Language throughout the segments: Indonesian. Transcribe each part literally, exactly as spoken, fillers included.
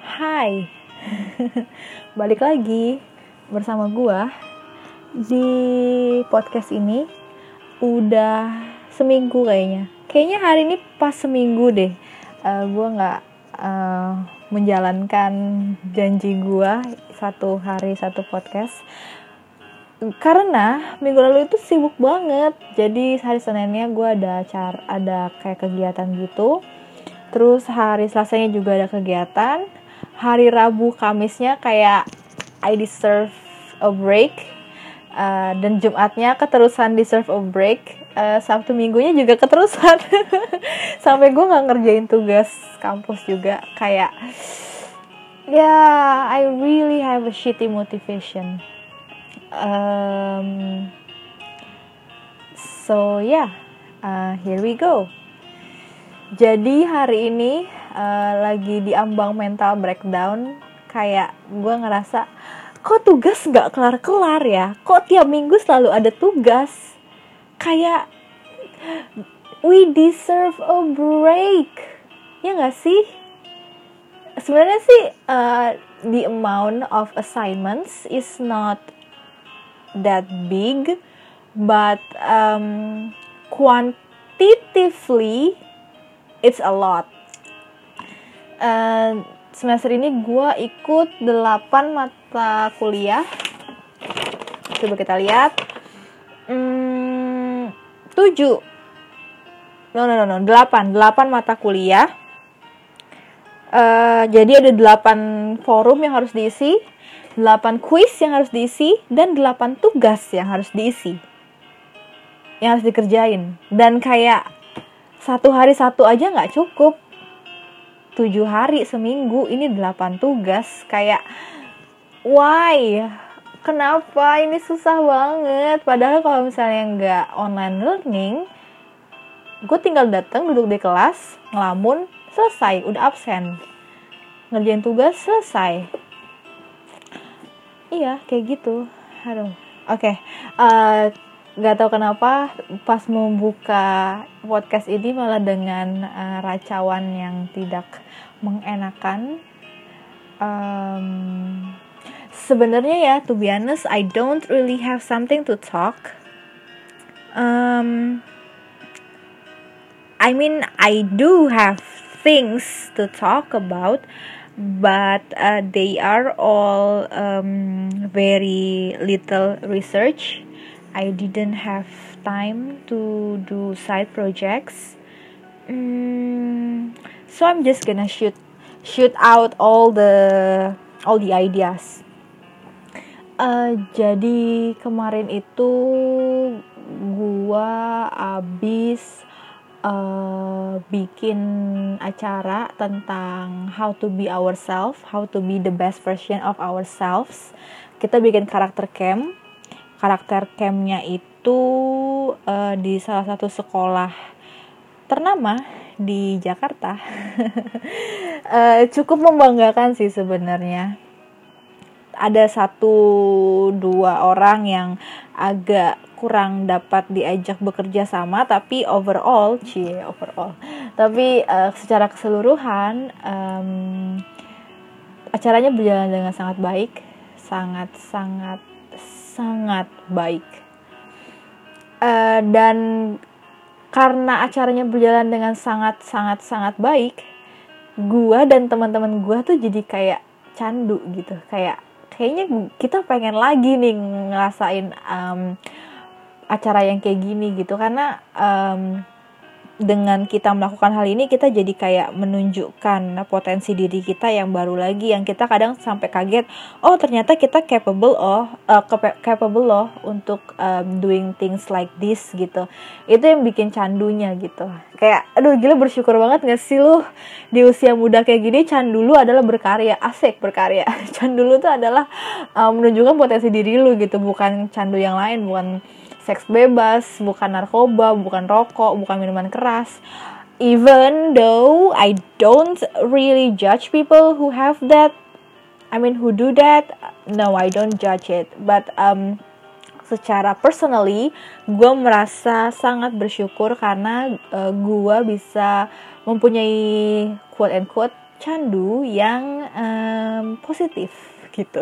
Hai, balik lagi bersama gua di podcast ini. Udah seminggu kayaknya. Kayaknya hari ini pas seminggu deh. Uh, gua nggak uh, menjalankan janji gua satu hari satu podcast. Karena minggu lalu itu sibuk banget. Jadi hari Seninnya gua ada acara, ada kayak kegiatan gitu. Terus hari Selasanya juga ada kegiatan. Hari Rabu Kamisnya kayak I deserve a break, uh, dan Jumatnya keterusan deserve a break, uh, Sabtu Minggunya juga keterusan. Sampai gue nggak ngerjain tugas kampus juga, kayak ya yeah, I really have a shitty motivation. Um, so yeah, uh, here we go. Jadi hari ini uh, lagi di ambang mental breakdown. Kayak gue ngerasa, kok tugas gak kelar-kelar ya? Kok tiap minggu selalu ada tugas? Kayak we deserve a break, ya gak sih? Sebenarnya sih uh, the amount of assignments is not that big, but um, quantitatively it's a lot. Uh, semester ini gue ikut delapan mata kuliah. Coba kita lihat. Hmm, tujuh. No, no, no, no. delapan. delapan mata kuliah. Uh, jadi ada delapan forum yang harus diisi, delapan kuis yang harus diisi, dan delapan tugas yang harus diisi. Yang harus dikerjain. Dan kayak satu hari satu aja gak cukup. Tujuh hari seminggu, ini delapan tugas. Kayak, why? Kenapa? Ini susah banget. Padahal kalau misalnya gak online learning, gue tinggal datang, duduk di kelas, ngelamun, selesai, udah absen. Ngerjain tugas, selesai. Iya, kayak gitu. Aduh. Oke, okay. uh, Gak tahu kenapa pas membuka podcast ini malah dengan uh, racauan yang tidak mengenakan. Um, Sebenarnya ya, to be honest, I don't really have something to talk. Um, I mean, I do have things to talk about, but uh, they are all um, very little research. I didn't have time to do side projects, mm, so I'm just gonna shoot shoot out all the all the ideas. Uh, jadi kemarin itu gua abis uh, bikin acara tentang how to be ourselves, how to be the best version of ourselves. Kita bikin karakter camp. Karakter campnya itu uh, di salah satu sekolah ternama di Jakarta. uh, cukup membanggakan sih sebenarnya. Ada satu dua orang yang agak kurang dapat diajak bekerja sama, tapi overall, cie overall. Tapi uh, secara keseluruhan um, acaranya berjalan dengan sangat baik, sangat sangat sangat baik, uh, dan karena acaranya berjalan dengan sangat sangat sangat baik, gua dan teman-teman gua tuh jadi kayak candu gitu, kayak kayaknya kita pengen lagi nih ngerasain um, acara yang kayak gini gitu, karena um, dengan kita melakukan hal ini kita jadi kayak menunjukkan potensi diri kita yang baru lagi, yang kita kadang sampai kaget, oh ternyata kita capable oh uh, capable loh untuk um, doing things like this gitu. Itu yang bikin candunya gitu. Kayak aduh gila, bersyukur banget gak sih lu di usia muda kayak gini. Candu lu adalah berkarya, asik berkarya. Candu lu tuh adalah um, menunjukkan potensi diri lu gitu, bukan candu yang lain, bukan seks bebas, bukan narkoba, bukan rokok, bukan minuman keras. Even though I don't really judge people who have that, I mean who do that, no I don't judge it. But um, secara personally, gue merasa sangat bersyukur karena uh, gue bisa mempunyai quote and quote candu yang um, positif gitu.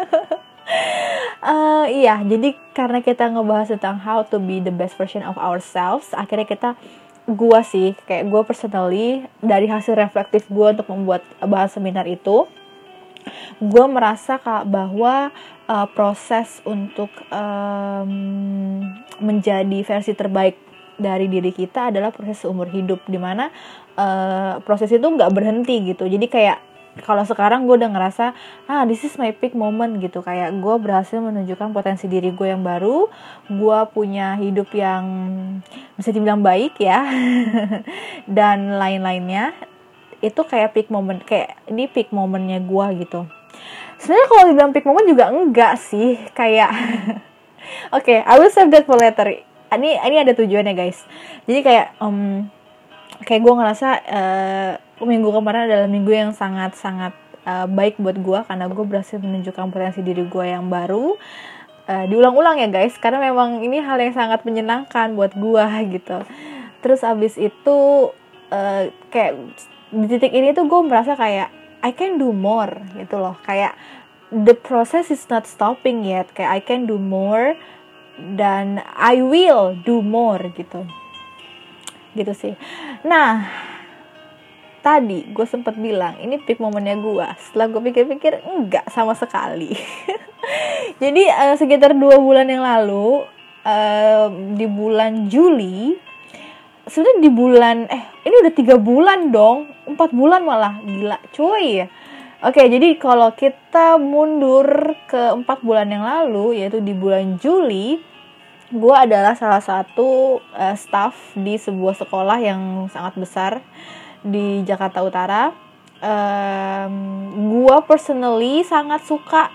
uh, iya, jadi karena kita ngebahas tentang how to be the best version of ourselves, akhirnya kita, gue sih, kayak gue personally, dari hasil reflektif gue untuk membuat bahan seminar itu, gue merasa kak bahwa uh, proses untuk um, menjadi versi terbaik dari diri kita adalah proses seumur hidup, dimana uh, proses itu nggak berhenti gitu. Jadi kayak kalau sekarang gue udah ngerasa ah this is my peak moment gitu, kayak gue berhasil menunjukkan potensi diri gue yang baru, gue punya hidup yang bisa dibilang baik ya dan lain-lainnya. Itu kayak peak moment, kayak ini peak momennya gue gitu. Sebenarnya kalau dibilang peak moment juga enggak sih, kayak oke, okay, I will save that for later. Ini ini ada tujuannya guys. Jadi kayak um, kayak gue ngerasa uh, minggu kemarin adalah minggu yang sangat sangat uh, baik buat gue, karena gue berhasil menunjukkan potensi diri gue yang baru. Uh, diulang-ulang ya guys, karena memang ini hal yang sangat menyenangkan buat gue gitu. Terus abis itu uh, kayak di titik ini tuh gue merasa kayak I can do more gitu loh, kayak the process is not stopping yet, kayak I can do more dan I will do more gitu gitu sih. Nah tadi gue sempat bilang ini peak momennya gue, setelah gue pikir-pikir enggak sama sekali. Jadi uh, sekitar dua bulan yang lalu, uh, di bulan Juli, sebenarnya di bulan eh ini udah tiga bulan dong, empat bulan malah, gila cuy. Oke, jadi kalau kita mundur ke empat bulan yang lalu, yaitu di bulan Juli, gue adalah salah satu uh, staff di sebuah sekolah yang sangat besar di Jakarta Utara. Um, gue personally sangat suka,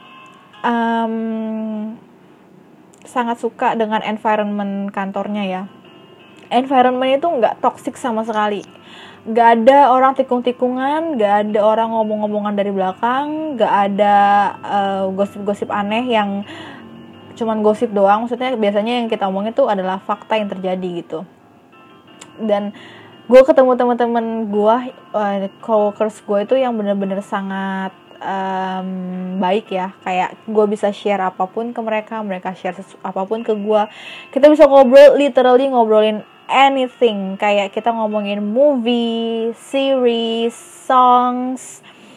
um, sangat suka dengan environment kantornya ya. Environment itu nggak toxic sama sekali. Nggak ada orang tikung-tikungan, nggak ada orang ngomong-ngomongan dari belakang, nggak ada uh, gosip-gosip aneh yang cuman gosip doang. Maksudnya biasanya yang kita omongin itu adalah fakta yang terjadi gitu. Dan gue ketemu teman-teman gue, uh, coworkers gue itu yang benar-benar sangat um, baik ya. Kayak gue bisa share apapun ke mereka, mereka share sesu- apapun ke gue. Kita bisa ngobrol, literally ngobrolin anything, kayak kita ngomongin movie, series, songs,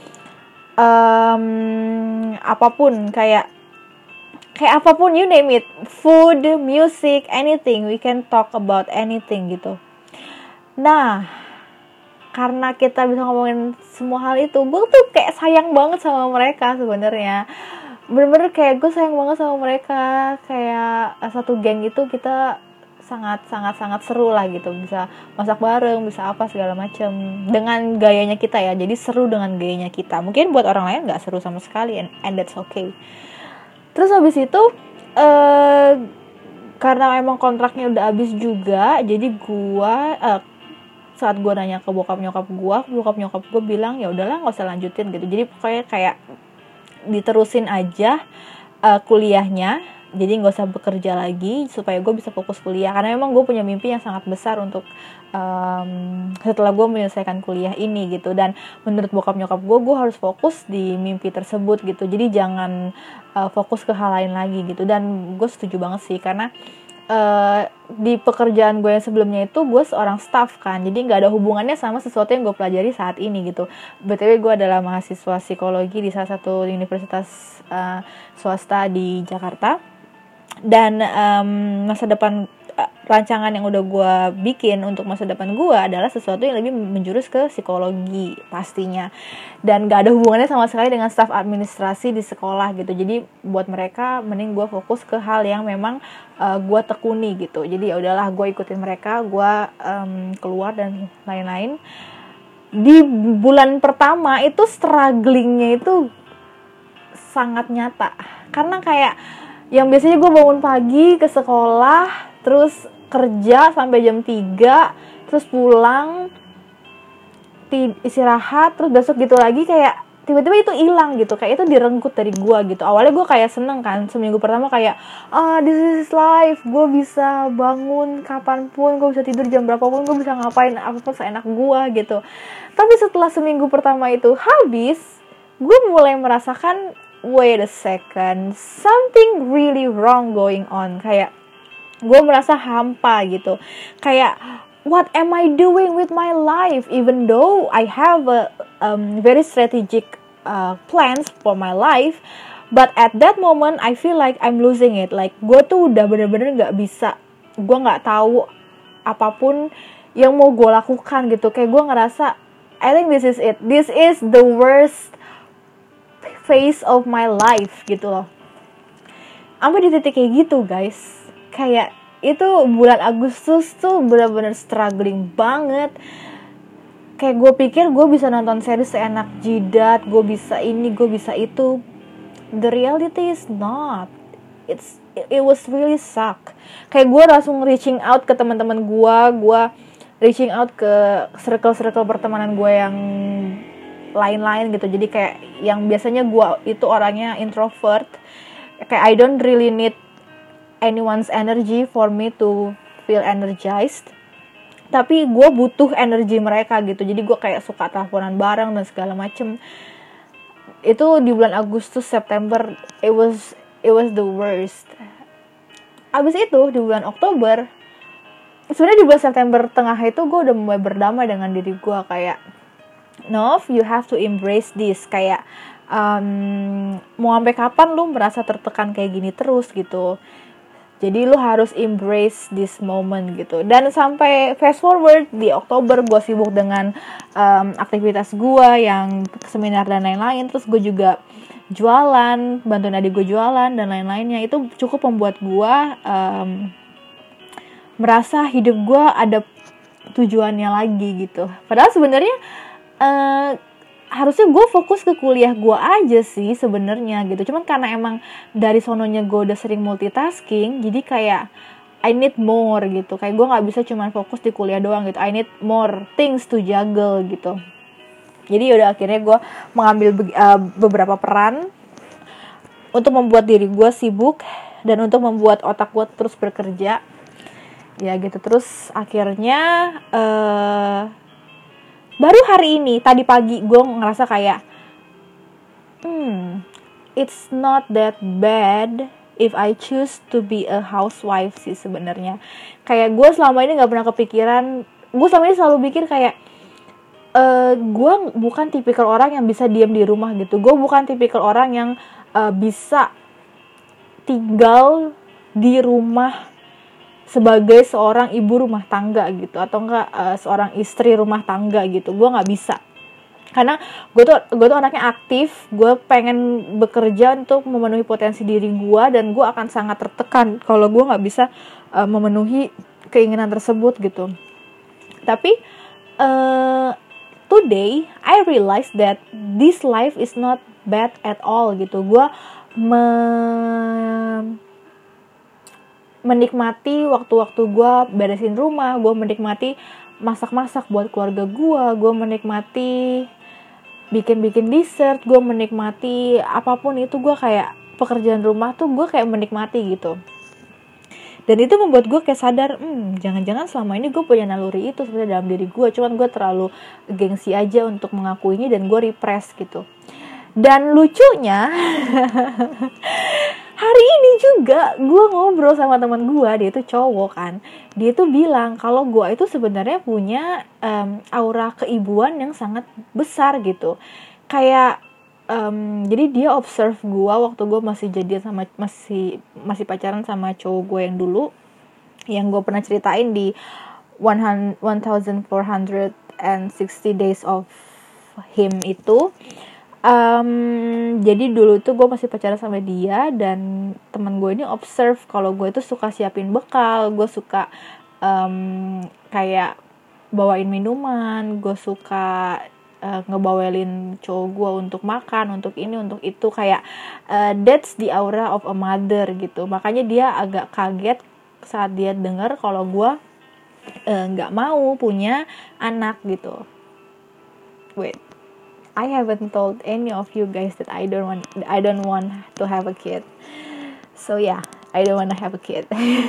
um, apapun, kayak kayak apapun, you name it, food, music, anything, we can talk about anything gitu. Nah, karena kita bisa ngomongin semua hal itu, gue tuh kayak sayang banget sama mereka sebenarnya. Bener-bener kayak gue sayang banget sama mereka, kayak satu geng itu kita sangat sangat sangat seru lah gitu, bisa masak bareng, bisa apa segala macam dengan gayanya kita ya. Jadi seru dengan gayanya kita. Mungkin buat orang lain nggak seru sama sekali, and, and that's okay. Terus habis itu uh, karena emang kontraknya udah habis juga, jadi gue uh, saat gue nanya ke bokap nyokap gue, bokap nyokap gue bilang ya udahlah nggak usah lanjutin gitu. Jadi pokoknya kayak diterusin aja uh, kuliahnya. Jadi nggak usah bekerja lagi supaya gue bisa fokus kuliah, karena memang gue punya mimpi yang sangat besar untuk um, setelah gue menyelesaikan kuliah ini gitu. Dan menurut bokap nyokap gue, gue harus fokus di mimpi tersebut gitu. Jadi jangan uh, fokus ke hal lain lagi gitu. Dan gue setuju banget sih, karena uh, di pekerjaan gue yang sebelumnya itu gue seorang staff kan, jadi nggak ada hubungannya sama sesuatu yang gue pelajari saat ini gitu. B T W gue adalah mahasiswa psikologi di salah satu universitas uh, swasta di Jakarta. Dan um, masa depan uh, rancangan yang udah gue bikin untuk masa depan gue adalah sesuatu yang lebih menjurus ke psikologi pastinya, dan gak ada hubungannya sama sekali dengan staf administrasi di sekolah gitu. Jadi buat mereka mending gue fokus ke hal yang memang uh, gue tekuni gitu. Jadi ya udahlah, gue ikutin mereka, gue um, keluar dan lain-lain. Di bulan pertama itu strugglingnya itu sangat nyata, karena kayak yang biasanya gue bangun pagi ke sekolah, terus kerja sampai jam tiga, terus pulang, istirahat, terus besok gitu lagi, kayak tiba-tiba itu hilang gitu, kayak itu direnggut dari gue gitu. Awalnya gue kayak seneng kan, seminggu pertama kayak ah this is life, gue bisa bangun kapanpun, gue bisa tidur jam berapapun, gue bisa ngapain apapun seenak gue gitu. Tapi setelah seminggu pertama itu habis, gue mulai merasakan wait a second, something really wrong going on. Kayak gue merasa hampa gitu, kayak what am I doing with my life? Even though I have a um, very strategic uh, plans for my life, but at that moment I feel like I'm losing it. Like gue tuh udah bener-bener nggak bisa, gue nggak tahu apapun yang mau gue lakukan gitu. Kayak gue ngerasa I think this is it. This is the worst phase of my life gitu loh. Sampai di titik kayak gitu guys. Kayak itu bulan Agustus tuh benar-benar struggling banget. Kayak gue pikir gue bisa nonton series seenak jidat, gue bisa ini, gue bisa itu. The reality is not. It's it was really suck. Kayak gue langsung reaching out ke teman-teman gue, gue reaching out ke circle-circle pertemanan gue yang lain-lain gitu. Jadi kayak yang biasanya gue itu orangnya introvert, kayak I don't really need anyone's energy for me to feel energized, tapi gue butuh energi mereka gitu. Jadi gue kayak suka teleponan bareng dan segala macem. Itu di bulan Agustus, September, it was it was the worst. Abis itu di bulan Oktober, sebenarnya di bulan September tengah itu gue udah mulai berdamai dengan diri gue. Kayak Nov, you have to embrace this. Kayak um, mau sampai kapan lu merasa tertekan kayak gini terus gitu. Jadi lu harus embrace this moment gitu. Dan sampai fast forward di Oktober, gue sibuk dengan um, aktivitas gue yang seminar dan lain-lain. Terus gue juga jualan, bantuin adik gue jualan dan lain-lainnya. Itu cukup membuat gue um, merasa hidup gue ada tujuannya lagi gitu. Padahal sebenarnya uh, harusnya gue fokus ke kuliah gue aja sih sebenarnya gitu. Cuman karena emang dari sononya gue udah sering multitasking, jadi kayak I need more gitu. Kayak gue nggak bisa cuman fokus di kuliah doang gitu. I need more things to juggle gitu. Jadi udah akhirnya gue mengambil be- uh, beberapa peran untuk membuat diri gue sibuk dan untuk membuat otak gue terus bekerja. Ya gitu. Terus akhirnya uh, baru hari ini, tadi pagi gue ngerasa kayak Hmm it's not that bad if I choose to be a housewife sih sebenarnya. Kayak gue selama ini gak pernah kepikiran. Gue selama ini selalu pikir kayak uh, gue bukan tipikal orang yang bisa diam di rumah gitu. Gue bukan tipikal orang yang uh, bisa tinggal di rumah sebagai seorang ibu rumah tangga gitu, atau enggak uh, seorang istri rumah tangga gitu. Gue nggak bisa, karena gue tuh gue tuh anaknya aktif. Gue pengen bekerja untuk memenuhi potensi diri gue, dan gue akan sangat tertekan kalau gue nggak bisa uh, memenuhi keinginan tersebut gitu. Tapi uh, today I realize that this life is not bad at all gitu. Gue me- menikmati waktu-waktu gue beresin rumah, gue menikmati masak-masak buat keluarga gue, gue menikmati bikin-bikin dessert, gue menikmati apapun itu. Gue kayak pekerjaan rumah tuh gue kayak menikmati gitu. Dan itu membuat gue kayak sadar, hmm, jangan-jangan selama ini gue punya naluri itu sebenarnya dalam diri gue, cuman gue terlalu gengsi aja untuk mengakuinya dan gue repress gitu. Dan lucunya hari ini juga gue ngobrol sama teman gue, dia itu cowok kan. Dia tuh bilang kalau gue itu sebenarnya punya um, aura keibuan yang sangat besar gitu. Kayak um, jadi dia observe gue waktu gue masih jadian sama masih masih pacaran sama cowok gue yang dulu, yang gue pernah ceritain di one thousand four hundred sixty days of him itu. Um, jadi dulu tuh gue masih pacaran sama dia, dan teman gue ini observe kalau gue itu suka siapin bekal, gue suka um, kayak bawain minuman, gue suka uh, ngebawelin cowok gue untuk makan, untuk ini, untuk itu. Kayak uh, that's the aura of a mother gitu. Makanya dia agak kaget saat dia dengar kalau gue uh, nggak mau punya anak gitu. Wait. I haven't told any of you guys that I don't want I don't want to have a kid. So yeah, I don't want to have a kid.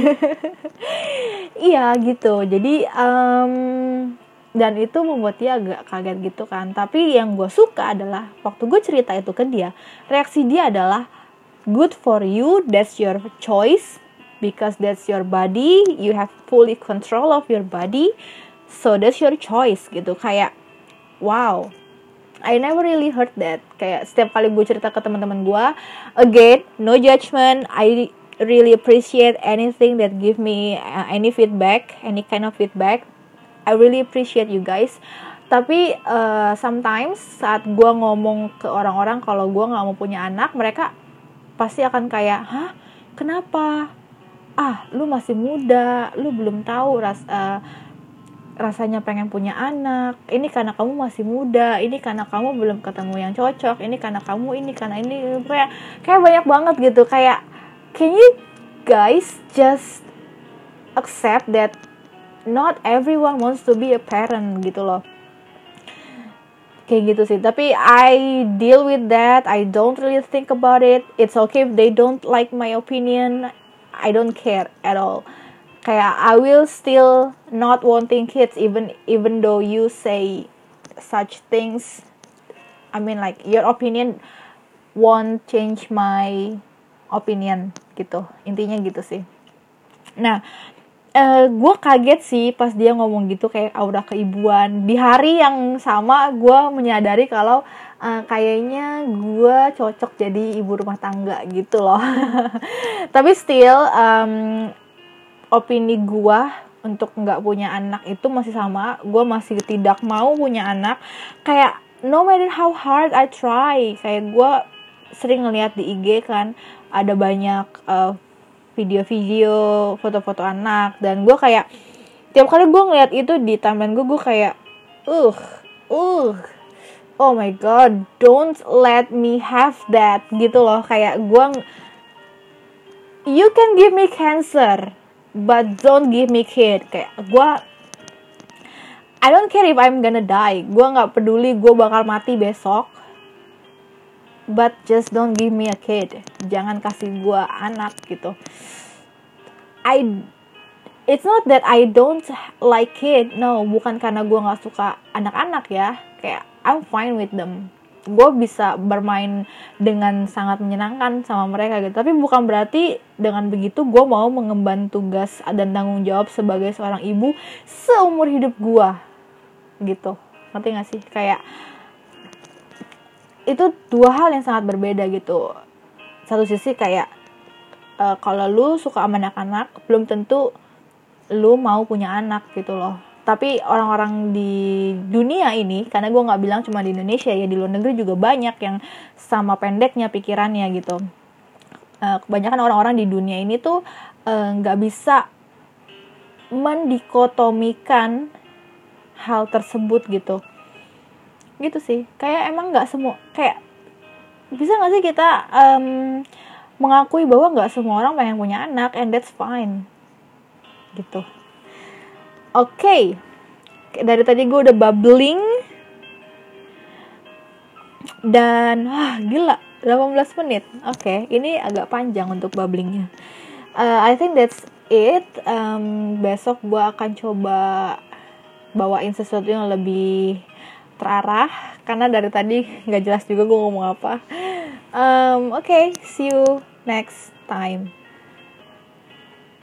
Iya gitu. Jadi um, dan itu membuat dia agak kaget gitu kan. Tapi yang gue suka adalah waktu gue cerita itu ke dia, reaksi dia adalah good for you, that's your choice, because that's your body, you have fully control of your body, so that's your choice gitu. Kayak wow, I never really heard that. Kayak setiap kali gue cerita ke teman-teman gue, again, no judgment, I really appreciate anything that give me uh, any feedback, any kind of feedback. I really appreciate you guys. Tapi uh, sometimes saat gue ngomong ke orang-orang kalau gue nggak mau punya anak, mereka pasti akan kayak, hah, kenapa? Ah, lu masih muda, lu belum tahu ras uh, rasanya pengen punya anak. Ini karena kamu masih muda, ini karena kamu belum ketemu yang cocok, ini karena kamu ini karena ini kayak kayak banyak banget gitu. Kayak can you guys just accept that not everyone wants to be a parent gitu loh. Kayak gitu sih. Tapi I deal with that. I don't really think about it. It's okay if they don't like my opinion. I don't care at all. Kayak I will still not wanting kids even even though you say such things. I mean like your opinion won't change my opinion gitu. Intinya gitu sih. Nah, Uh, gue kaget sih pas dia ngomong gitu kayak aura keibuan. Di hari yang sama gue menyadari kalau uh, kayaknya gue cocok jadi ibu rumah tangga gitu loh. Tapi still um, opini gue untuk nggak punya anak itu masih sama. Gue masih tidak mau punya anak. Kayak no matter how hard I try. Kayak gue sering ngeliat di I G kan ada banyak uh, video-video, foto-foto anak, dan gue kayak tiap kali gue ngeliat itu di timeline gue, gue kayak uh, uh, oh my god, don't let me have that gitu loh. Kayak gue, you can give me cancer, but don't give me kid. Kayak gue, I don't care if I'm gonna die, gue nggak peduli gue bakal mati besok. But just don't give me a kid. Jangan kasih gue anak gitu. I, it's not that I don't like kid. No, bukan karena gue gak suka anak-anak ya. Kayak I'm fine with them. Gue bisa bermain dengan sangat menyenangkan sama mereka gitu. Tapi bukan berarti dengan begitu gue mau mengemban tugas dan tanggung jawab sebagai seorang ibu seumur hidup gue gitu. Ngerti gak sih? Kayak itu dua hal yang sangat berbeda gitu. Satu sisi kayak uh, kalau lu suka sama anak-anak, belum tentu lu mau punya anak gitu loh. Tapi orang-orang di dunia ini, karena gue nggak bilang cuma di Indonesia ya, di luar negeri juga banyak yang sama pendeknya pikirannya gitu. Uh, kebanyakan orang-orang di dunia ini tuh nggak uh, bisa mendikotomikan hal tersebut gitu. Gitu sih, kayak emang nggak semua, kayak bisa nggak sih kita um, mengakui bahwa nggak semua orang pengen punya anak, and that's fine gitu. Oke, okay. Dari tadi gue udah babbling dan wah gila delapan belas menit. Oke, okay. Ini agak panjang untuk babblingnya. uh, I think that's it. um, besok gue akan coba bawain sesuatu yang lebih terarah, karena dari tadi nggak jelas juga gue ngomong apa. um, Oke, okay, see you next time.